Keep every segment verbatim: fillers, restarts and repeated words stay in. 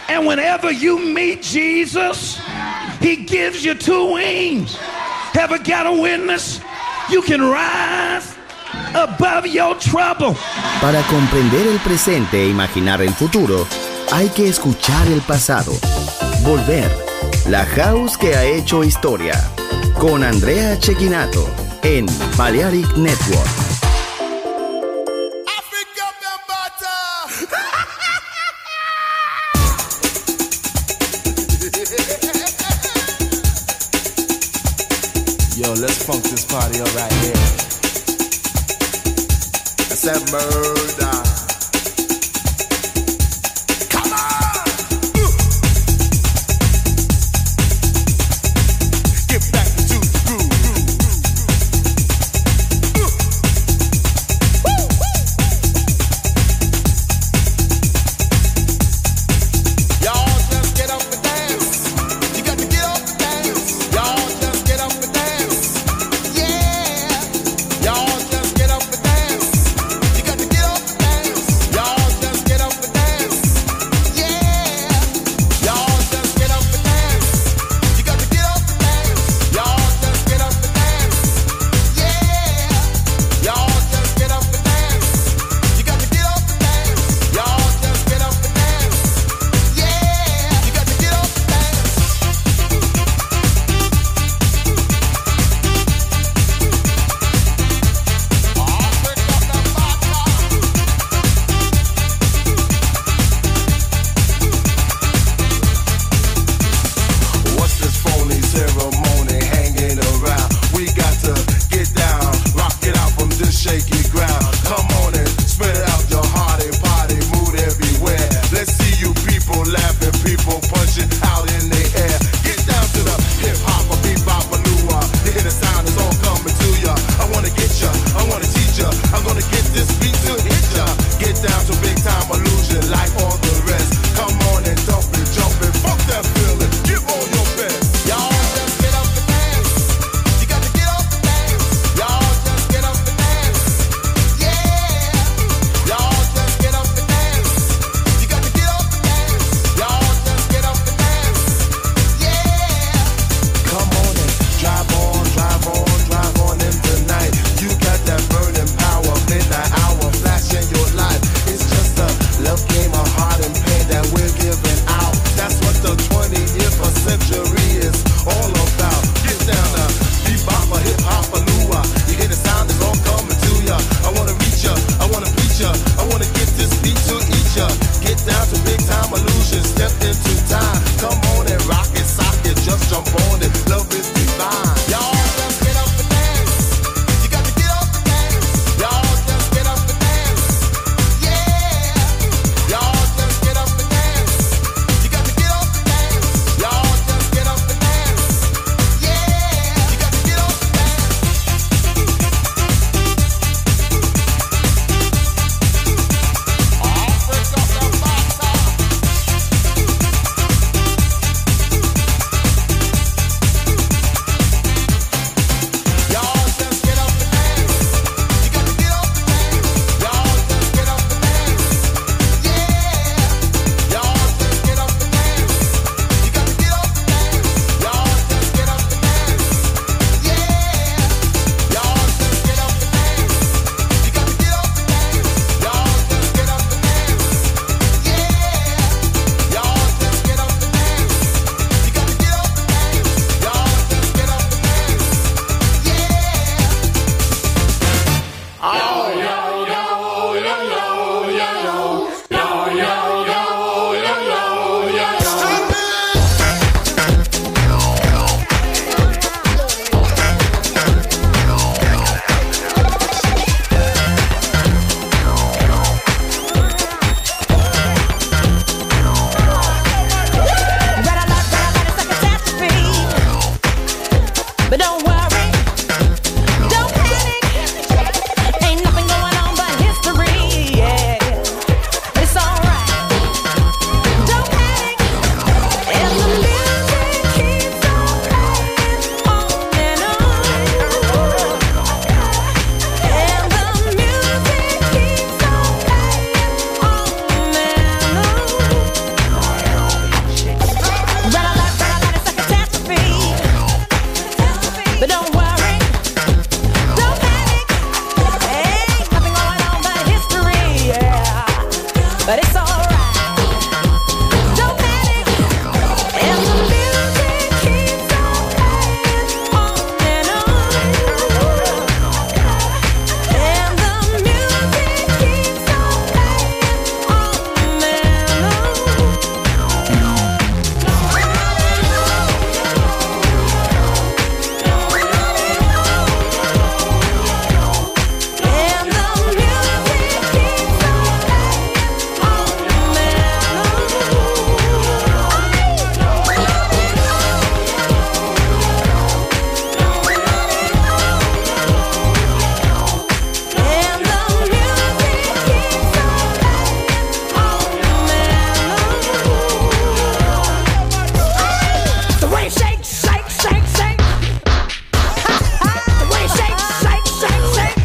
And whenever you meet Jesus, he gives you two wings. Ever got a witness? You can rise above your trouble. Para comprender el presente e imaginar el futuro, hay que escuchar el pasado. Volver. La house que ha hecho historia. Con Andrea Cecchinato en Balearic Network. Yo, let's funk this party up right here. I said murder. Come on! Uh. Get back to the groove. Uh. Woo, woo. Y'all just get up and dance. You got to get up and dance. Y'all just get up and dance. Y'all just get up and dance. You got to get up and dance. Y'all just get up and dance. Yeah. Y'all just get up and dance. You got to get up and dance. Y'all just get up and dance. Yeah. Y'all just get up and dance. You got to get up and dance. Y'all just get up and dance. Yeah. You got to get up and dance. What's this phony ceremony hanging around? We got to get down, rock it out from this shaky ground. Come on and spread out your hearty party mood everywhere. Let's see you people laughing, people punching out in the air. Get down to the hip hop, a bebop, a lua. You hear the sound, it's all coming to ya. I wanna get ya, I wanna teach ya. I'm gonna get this beat to hit ya. Get down to big time illusion like all the rest. Come on and dump it, jump it, fuck that feeling. Give all your best. Y'all just get up and dance. You got to get up and dance. Y'all just get up and dance. Yeah. Y'all just get up and dance. You got to get up and dance. Y'all just get up and dance. Yeah. Come on and drive on, drive on, drive on in tonight. You got that burning power, midnight hour, flashing your life. It's just a love game of heart and pain that we're giving out. That's what the twentieth century is all about. Get down to bebop, a hip hop, a lua. You hear the sound, it's all coming to ya. I wanna reach ya, I wanna preach ya. I wanna get this beat to eat ya. Get down to big time illusion, step into time. Come on and rock it, sock it, just jump on it. Love is divine. Y'all just get up and dance. You got to get up and dance. Y'all just get up and dance. Yeah. Y'all just get up and dance. You got to get up and dance. Y'all just get up and dance. Yeah. You got to get up and dance. but it's alright. Don't panic, and the music keeps on playing on and on. And the music keeps on playing on and on. The way it shakes, shake, shake, shake. The way it shakes, shake, shake, shake.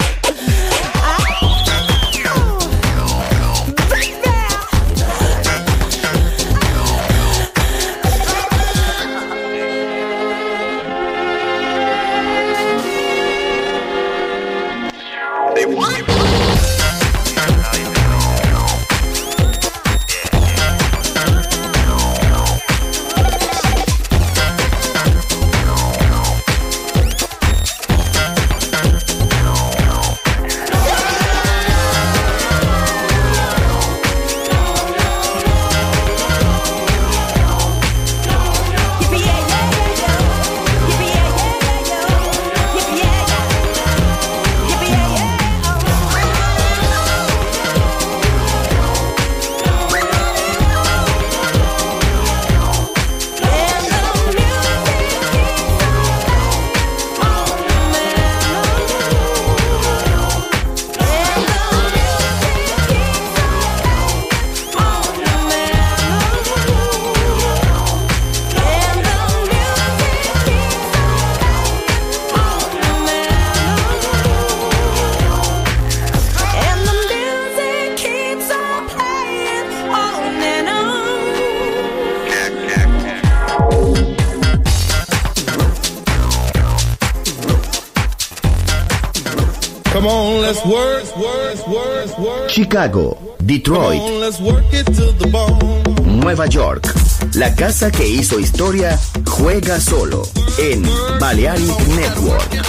Come on, let's work, work, work, work. Chicago, Detroit, Come on, let's work it to the bone. Nueva York. La casa que hizo historia juega solo en Balearic Network.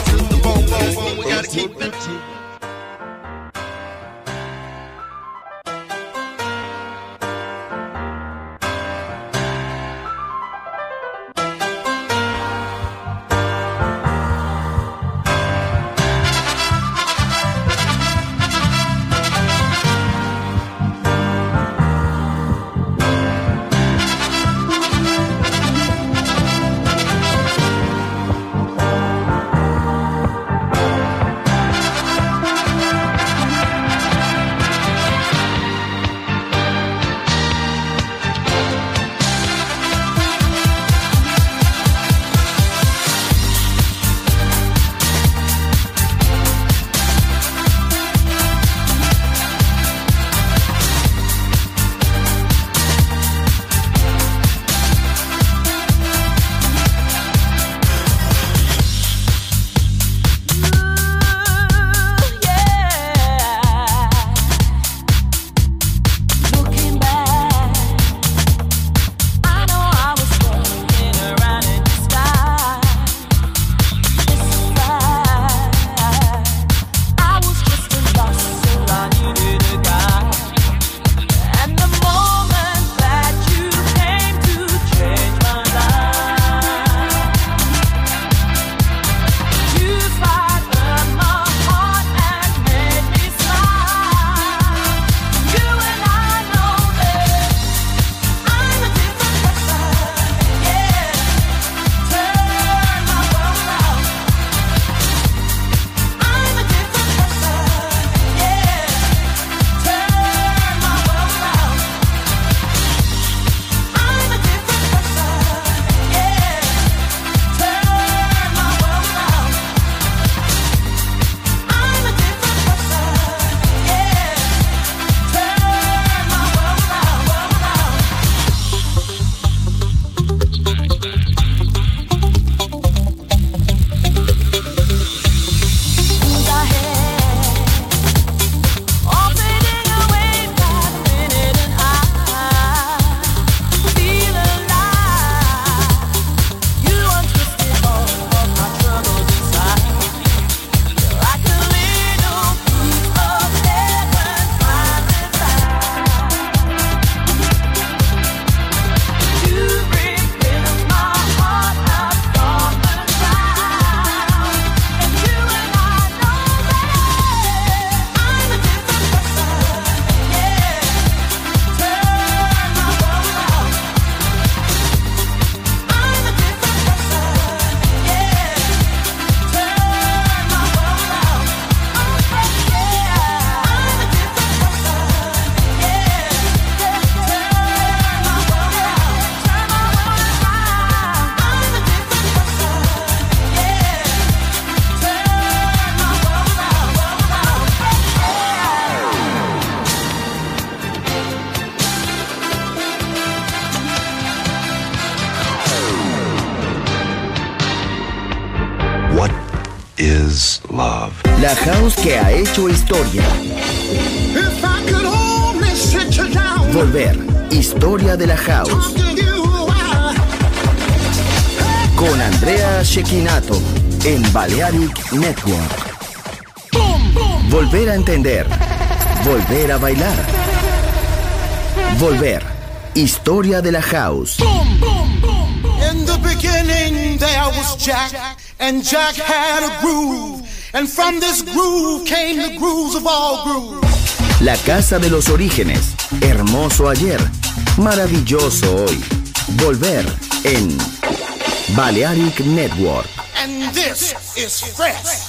is love. La house que ha hecho historia. If I could only sit you down, Volver. Historia de la house. talk to you a while. Con Andrea Cecchinato en Balearic Network. Volver a entender. Volver a bailar. Volver. Historia de la house. In the beginning there was Jack, and Jack had a groove, and from this groove came the grooves of all grooves. La casa de los orígenes. Hermoso ayer. Maravilloso hoy. Volver en Balearic Network. And this is fresh.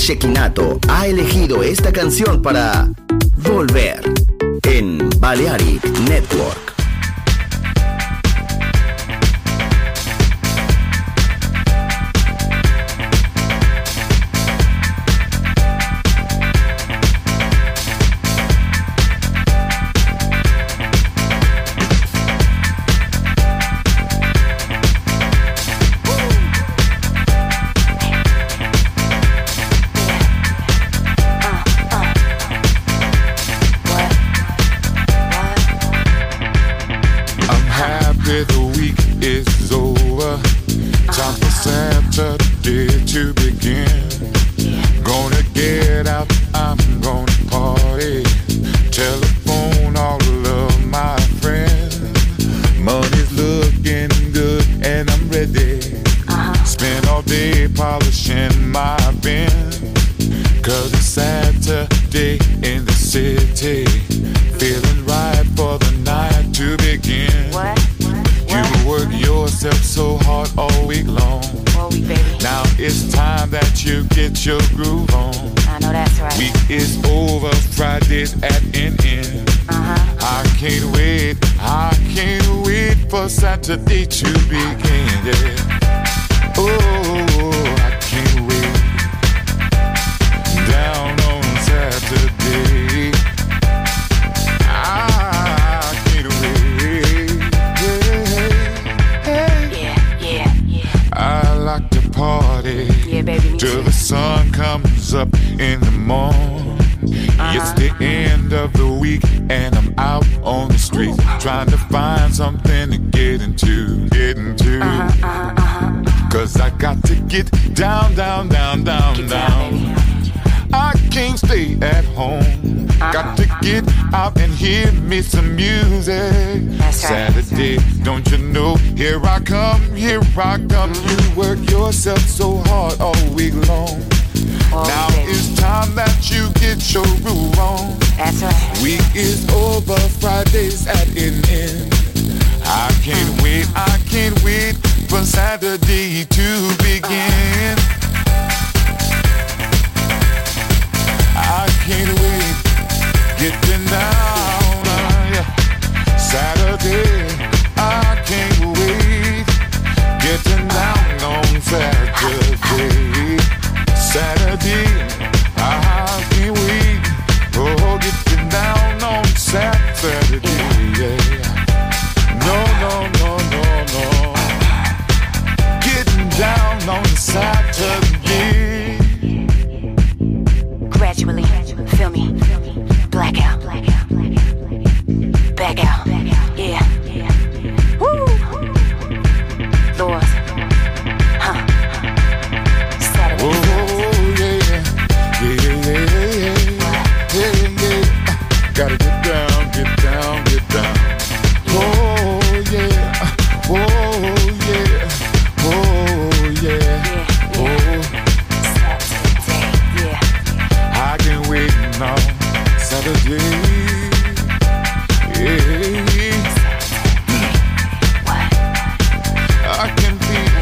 Shekinato ha elegido esta canción para volver en Balearic Network. Saturday to begin, yeah. Oh, I can't wait. Down on Saturday, I can't wait. Yeah, yeah, yeah, yeah. I like to party, yeah, baby, me till too. the sun comes up in the morning. Uh-huh. It's the end of the week and I'm out on the street trying to find something to get into, get into. Uh-huh, uh-huh, uh-huh. Cause I got to get down, down, down, down, Get down. down, I can't stay at home. Uh-huh. Got to get out and hear me some music. That's right. Saturday, don't you know? Here I come, here I come. You work yourself so hard all week long. Oh, Now baby. it's time that you get your groove on. That's right. Week is over, Friday's at an end. I can't wait, I can't wait for Saturday to begin. I can't wait, getting down, uh, yeah. Saturday, I can't wait, getting down on Saturday. Saturday, I can't wait, oh, getting down on Saturday, yeah. No, no, no, no, no, getting down on Saturday. Gradually, feel me, blackout, back out, yeah, woo, Lord, huh, Saturday. Oh, yeah, yeah, yeah, yeah, yeah, yeah. Gotta get down, get down, get down. Oh, yeah, oh, yeah, oh, yeah, oh. Saturday, yeah. I can't wait now, Saturday. Yeah. What? I can feel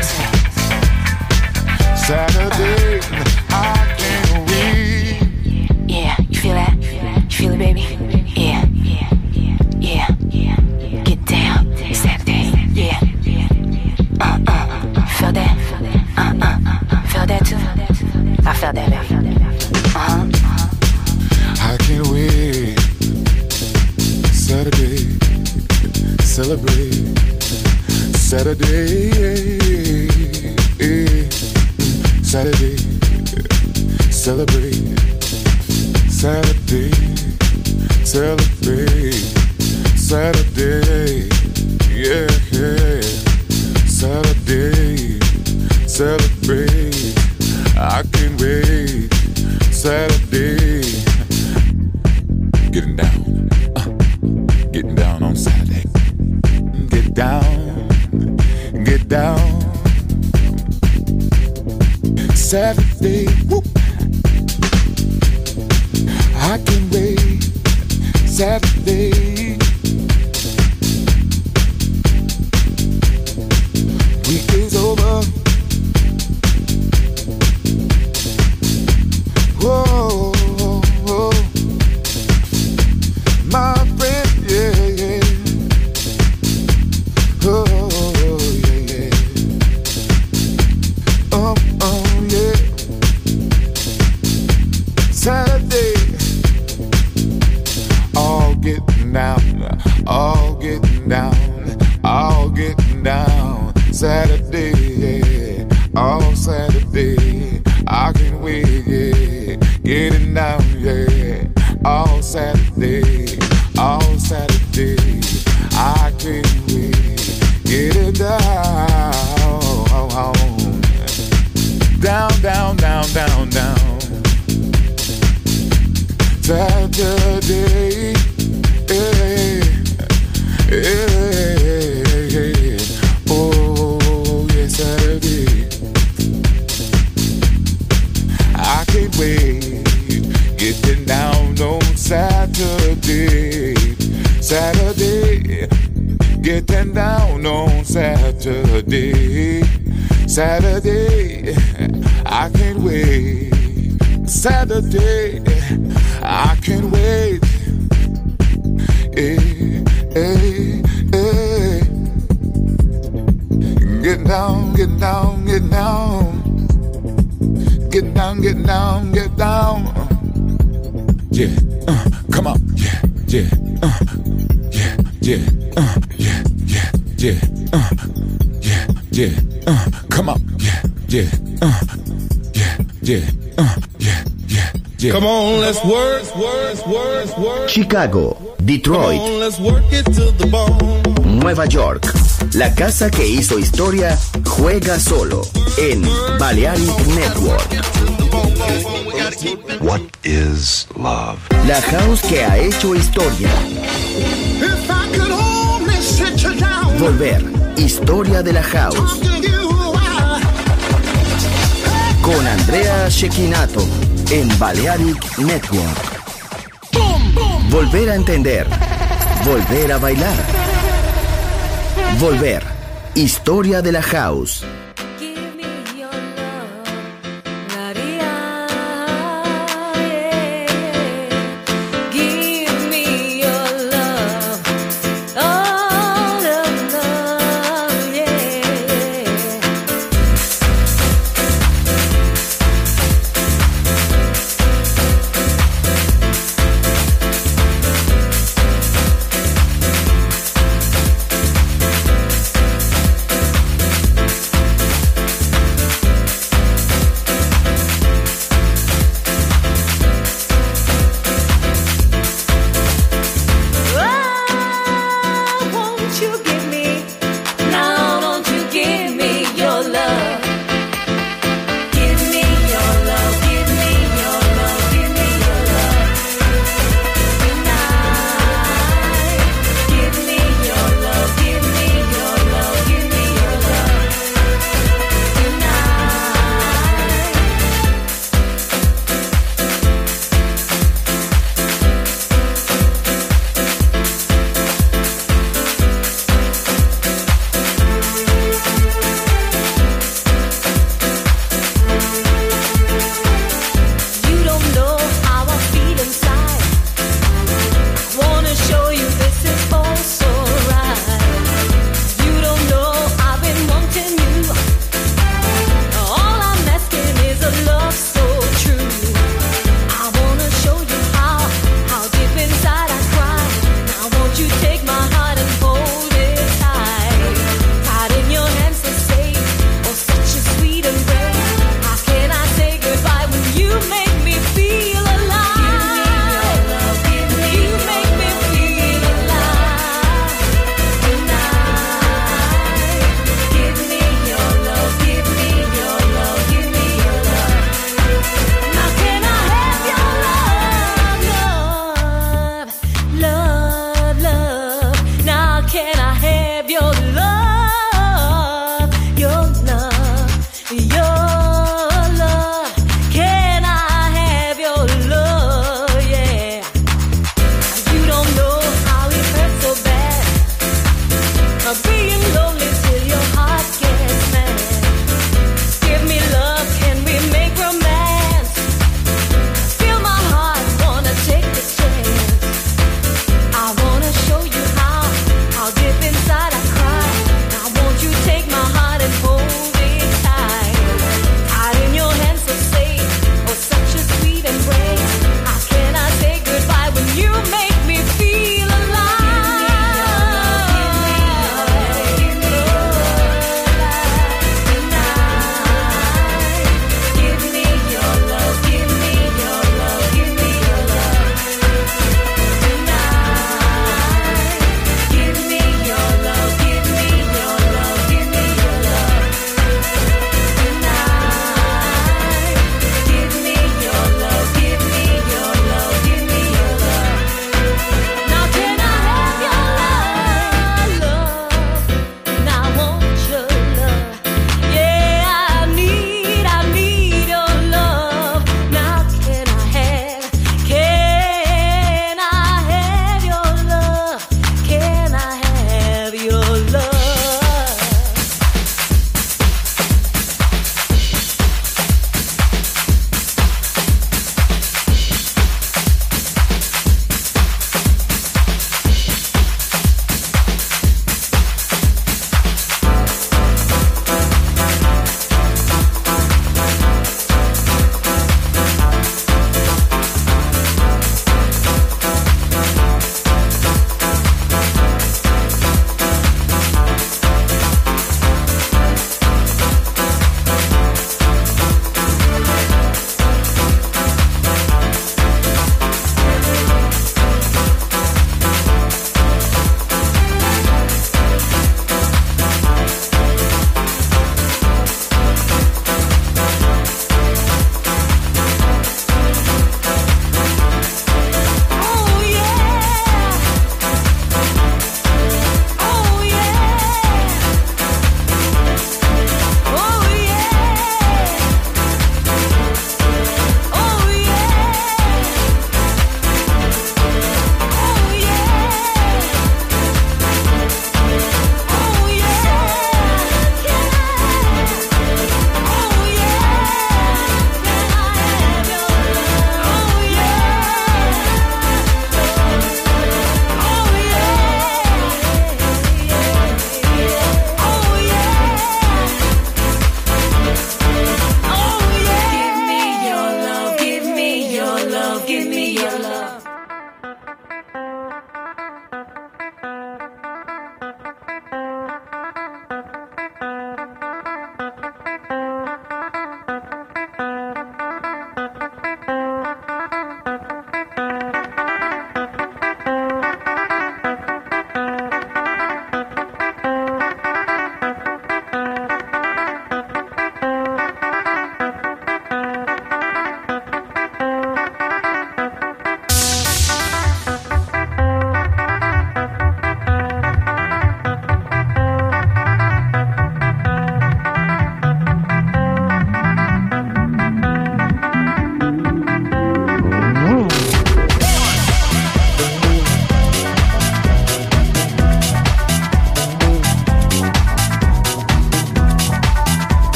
Saturday. I can't wait. Yeah, you feel that? You feel it, baby? Yeah, yeah, yeah. Get down, Saturday, yeah. Uh, uh, feel that? Uh, uh, feel that too? I felt that, baby. Uh-huh. I can't wait. Saturday, celebrate. Saturday, Saturday, celebrate. Saturday, celebrate. Saturday, yeah, yeah. Saturday, celebrate. I can't wait. Saturday, getting down, uh, getting down on Saturday. Get down, get down. Saturday, whoop. I can wait. Saturday, week is over. down, all getting down. Saturday, yeah, all Saturday. I can't wait, yeah, getting down, yeah, all Saturday, all Saturday. I can't wait, getting down, down, down, down, down, down. Saturday, yeah, yeah, oh yeah, Saturday. I can't wait, getting down on Saturday, Saturday, getting down on Saturday, Saturday. I can't wait, Saturday. I can't wait. Hey, hey, hey. Get down, get down, get down. Get down, get down, get down. Yeah, uh, come on. Yeah, yeah, uh, yeah, yeah, uh, yeah, yeah, yeah, uh, yeah, yeah, uh, come on. Yeah, yeah, uh, yeah, yeah, uh, yeah, yeah. Come on, let's work, work, work, work. Chicago, Detroit, Come on, let's work it to the bone. Nueva York. La casa que hizo historia juega solo en Balearic Network. What is love? La house que ha hecho historia. If I could only sit you down, Volver, historia de la house. talk to you, I- Con Andrea Cecchinato en Balearic Network. Volver a entender. Volver a bailar. Volver, historia de la house. Give me your love, Maria, yeah. Give me your love, all of love, yeah. Oh, won't you give me, now won't you give me your love? Give me your love, give me your love, give me your love tonight. Give me your love, give me your love, give me your love tonight.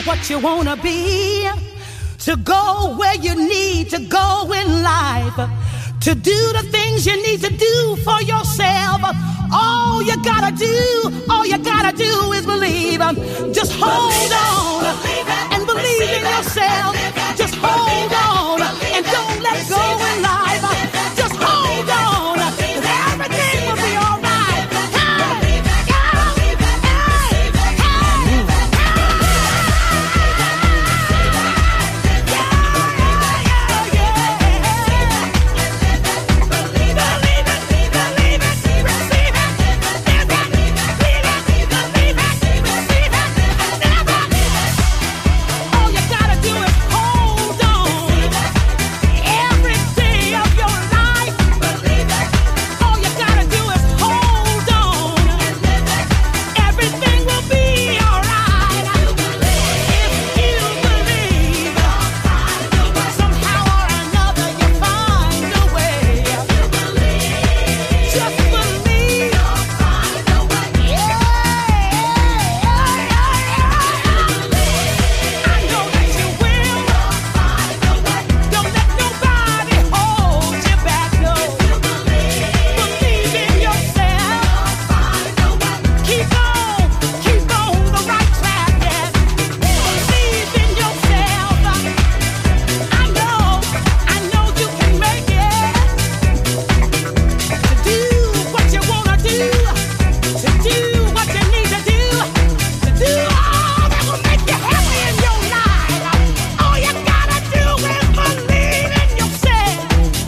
what you wanna be, to go where you need to go in life, to do the things you need to do for yourself. All you gotta do, all you gotta do is believe. Just hold on and believe in yourself. Just hold on and don't let go in life. Just hold on, 'cause everything will be all right. Hey, hey, hey, hey, all you gotta do is hold on every day of your life. All you gotta do is hold on. Everything will be alright. If you believe, somehow or another you find a way. Just believe. Yeah. I know that you will. Don't let nobody hold you back, no. Believe in yourself. Keep on, keep on the right track, yes. Believe in yourself. I know, I know you can make it. To do what you wanna do, to do what you need to do, to do all that will make you happy in your life. All you gotta do is believe in yourself.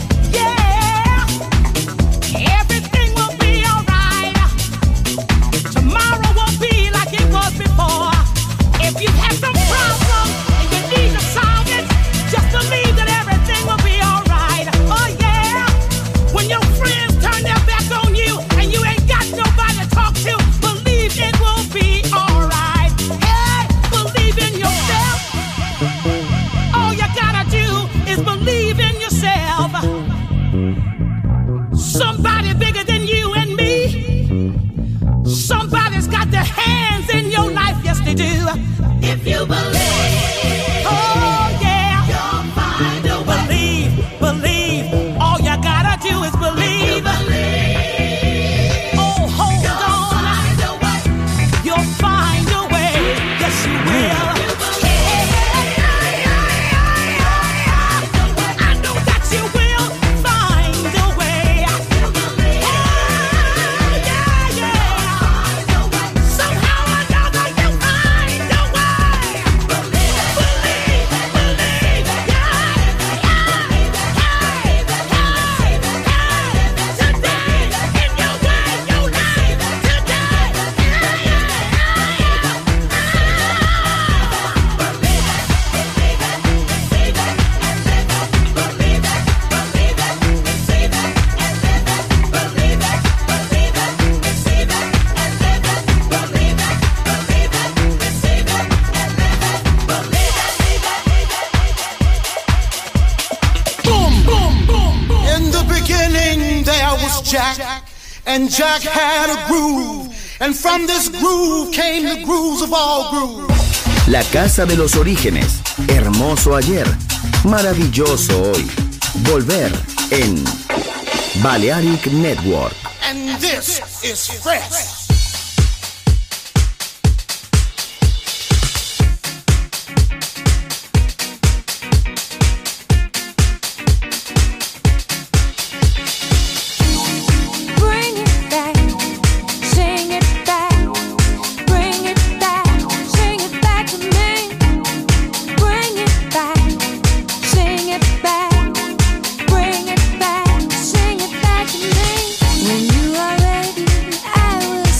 Yeah, everything will be alright. Tomorrow won't be like it was before. If you have some problem and you need to solve it, just believe that everything will be alright. Oh yeah, when your friends turn their back on you and you ain't got nobody to talk to, believe it will be alright. Hey, believe in yourself. All you gotta do is believe in yourself. Somebody bigger than you and me. Somebody's got their hands in your life, yes they do. If you believe, oh yeah, you'll find a way. Believe, believe. All you gotta do is believe. Oh, hold on. You'll find a way. Yes, you will. I know that you will find a way. Oh, yeah, yeah. Somehow or another you find a way. Believe, believe, yeah, yeah, hey, hey, hey. Today, in your way, your life, today, yeah, yeah, In the beginning there was Jack, and Jack had a groove, and from this groove came the grooves of all grooves. La casa de los orígenes. Hermoso ayer. Maravilloso hoy. Volver en Balearic Network. And this is fresh. Bring it back, sing it back, bring it back, sing it back to me. Bring it back, sing it back, bring it back, sing it back to me. When you are ready, I will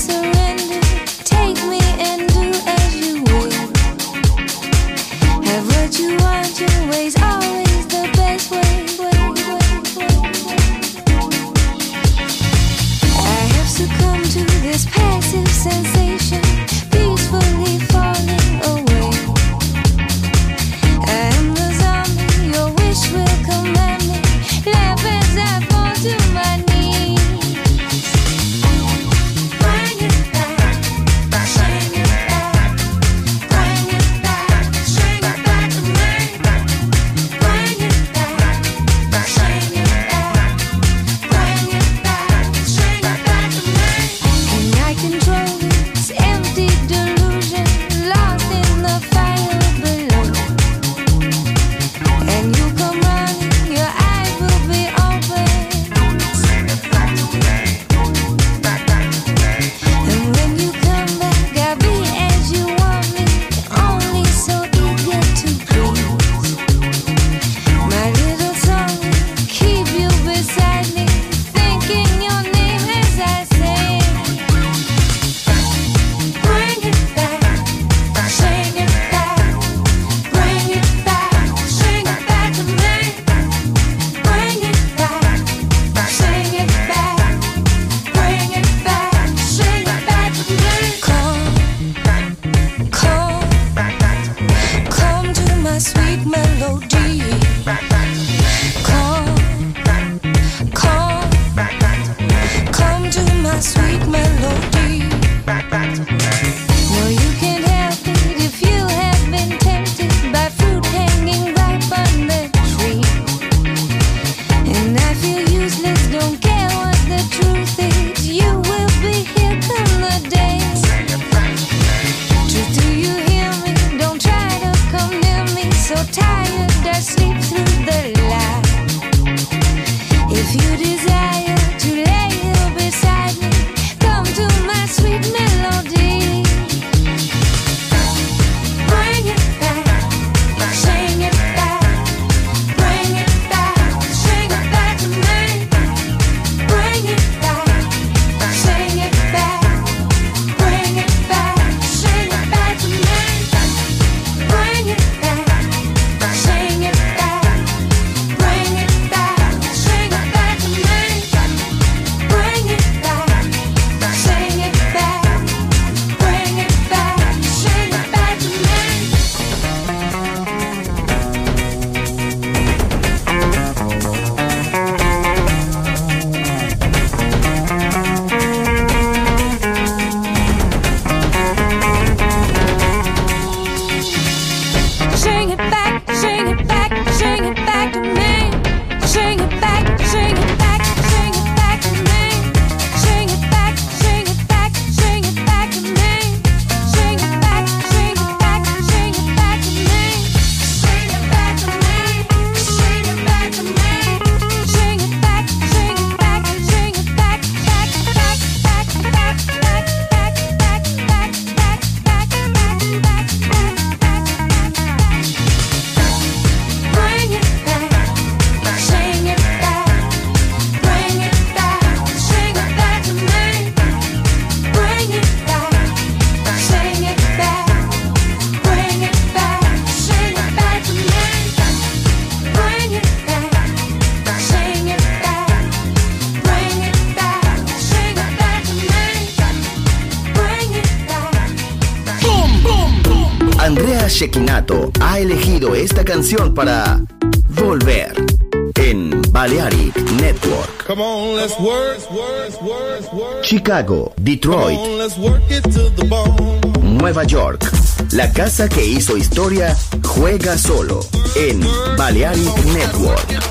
Shekinato ha elegido esta canción para volver en Balearic Network. Come on, let's work, work, work, work. Chicago, Detroit, Come on, let's work it to the bone. Nueva York. La casa que hizo historia juega solo en Balearic Network.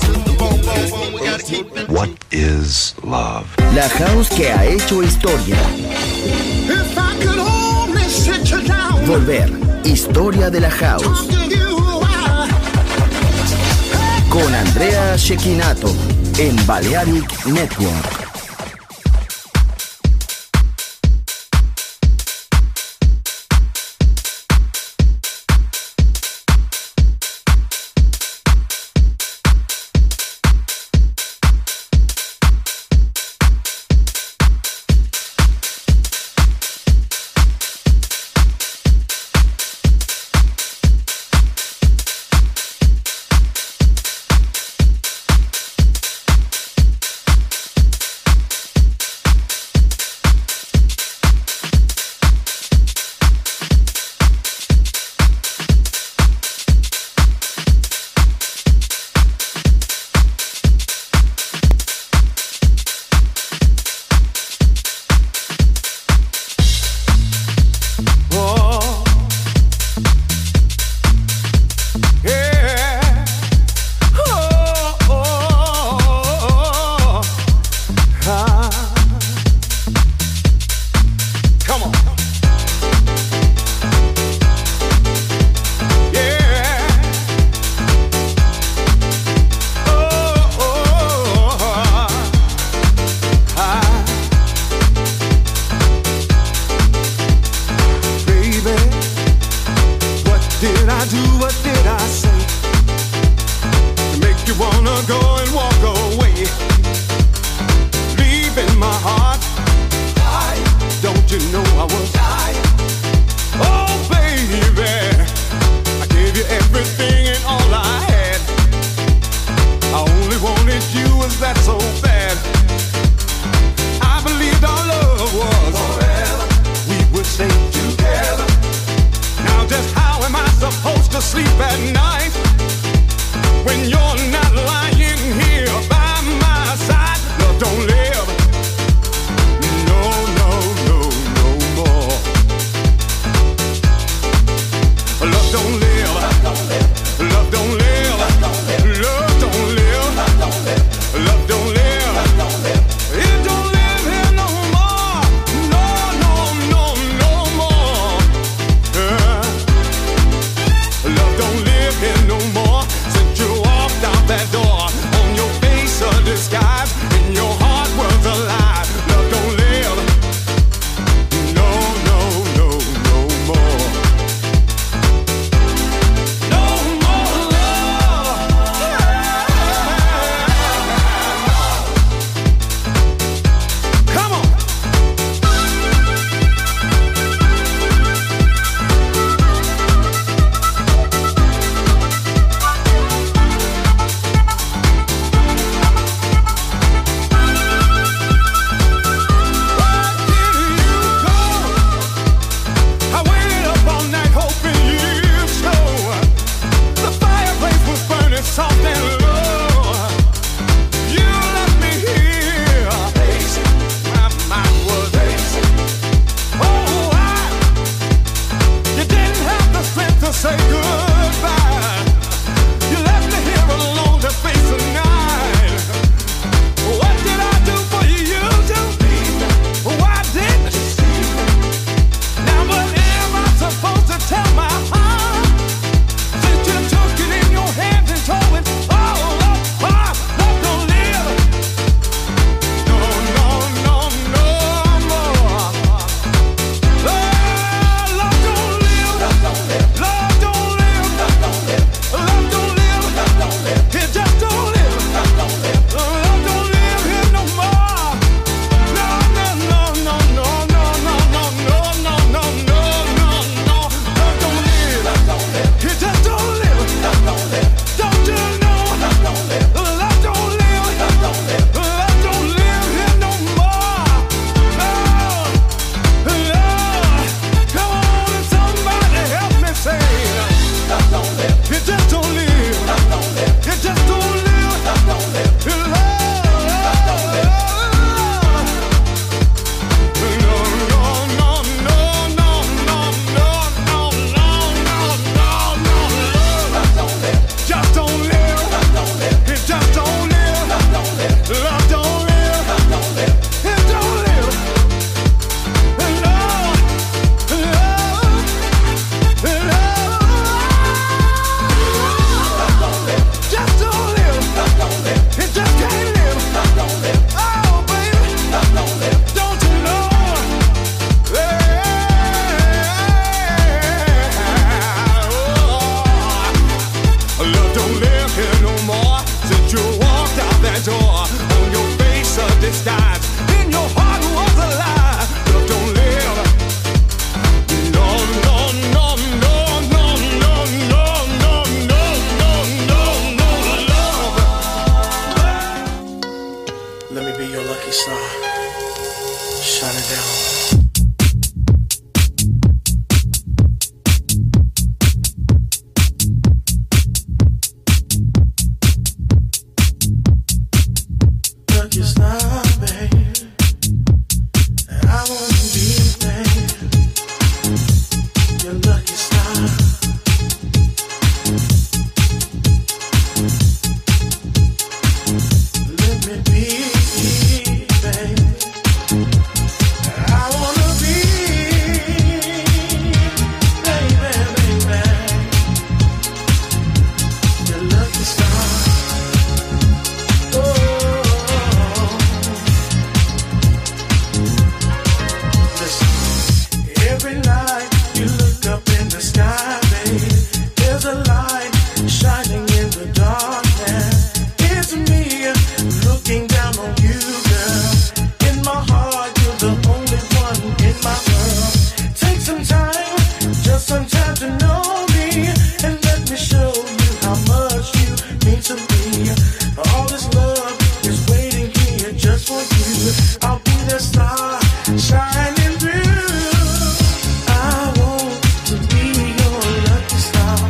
What is love? La house que ha hecho historia. If I could only sit you down, Volver, historia de la house. talk to you while Con Andrea Shekinato en Balearic Network. Tell my heart, since you took it in your hands and told it. live here no more. Since you walked out that door, on your face a disguise, in your heart was a lie. Love don't live. No, no, no, no, no, no, no, no, no, no, no, no, love. Let me be your lucky star. Shine it down. Lucky star, babe. I wanna be, babe, your lucky star. Let me be, babe. I wanna be, baby, baby, your lucky star. Oh, listen. Every night you look up in the sky, babe, there's a light shining in the darkness. It's me looking down on you, girl. In my heart, you're the only one in my world. Take some time, just some time to know me, and let me show you how much you mean to me. All this love is waiting here just for you. I'll be the star shining through. I want to be your lucky star.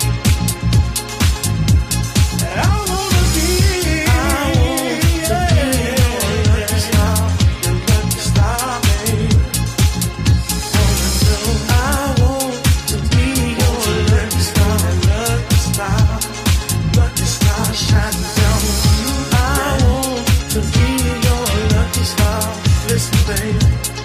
I wanna be, I want to be your lucky star, your lucky star, babe. Wanna know? I want to be your lucky star, lucky star, lucky star shining down on you. I want to be your lucky star. Listen, babe.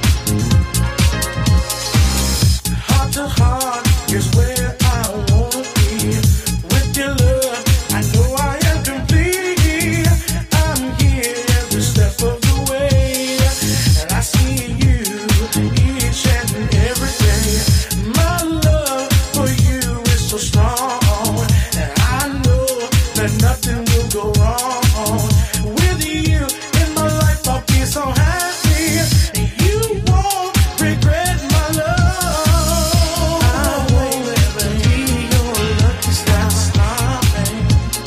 Heart to heart is where I wanna be. With your love, I know I am complete. I'm here every step of the way, and I see you each and every day. My love for you is so strong, and I know that nothing will go wrong. With you in my life, I'll be so happy. You won't regret my love. I want to be your lucky star, babe,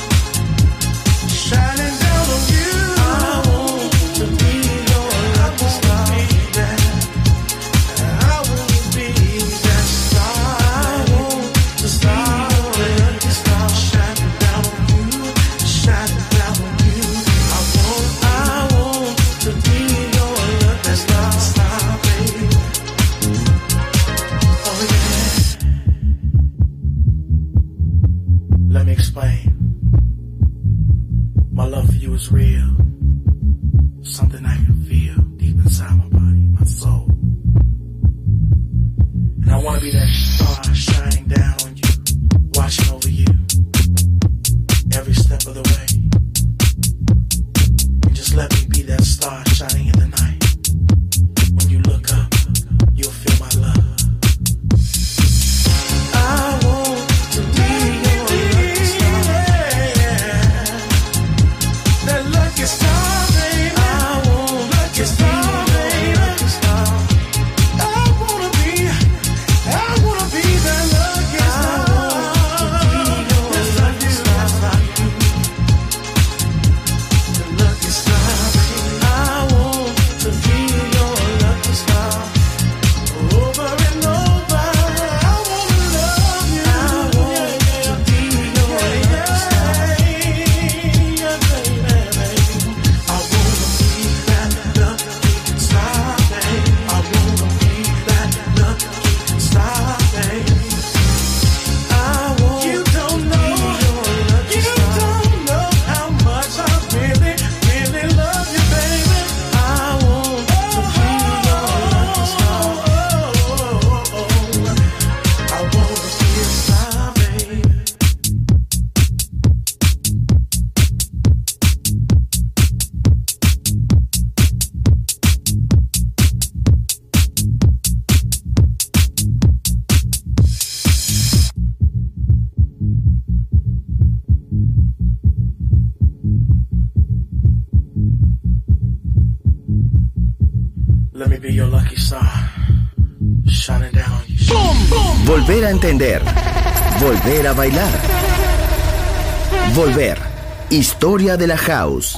shining down on you. I want to be your lucky star, baby. I want to be that star. I want to be your lucky star, shining down on you, shining down on you. I want, I want to be your lucky star, star, baby. Oh yeah. Let me explain. My love for you is real. Something I can feel deep inside my body, my soul. And I want to be that star shining down on you, watching over you every step of the way. And just let me be that star shining in the night. When you look up, you'll feel my love. I want to be your lucky star. That lucky star, baby. I want lucky star, baby. Lucky star. I wanna be, I wanna be that lucky star. I want to be your lucky star. be your lucky star. Shining down on you. Boom, boom. Volver a entender. Volver a bailar. Volver. Historia de la house.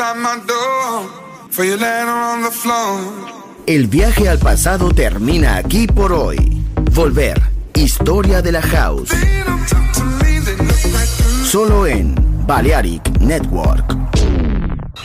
outside my door, for you laying on the floor. El viaje al pasado termina aquí por hoy. Volver, historia de la house. They don't talk to me, they look like them. Solo en Balearic Network.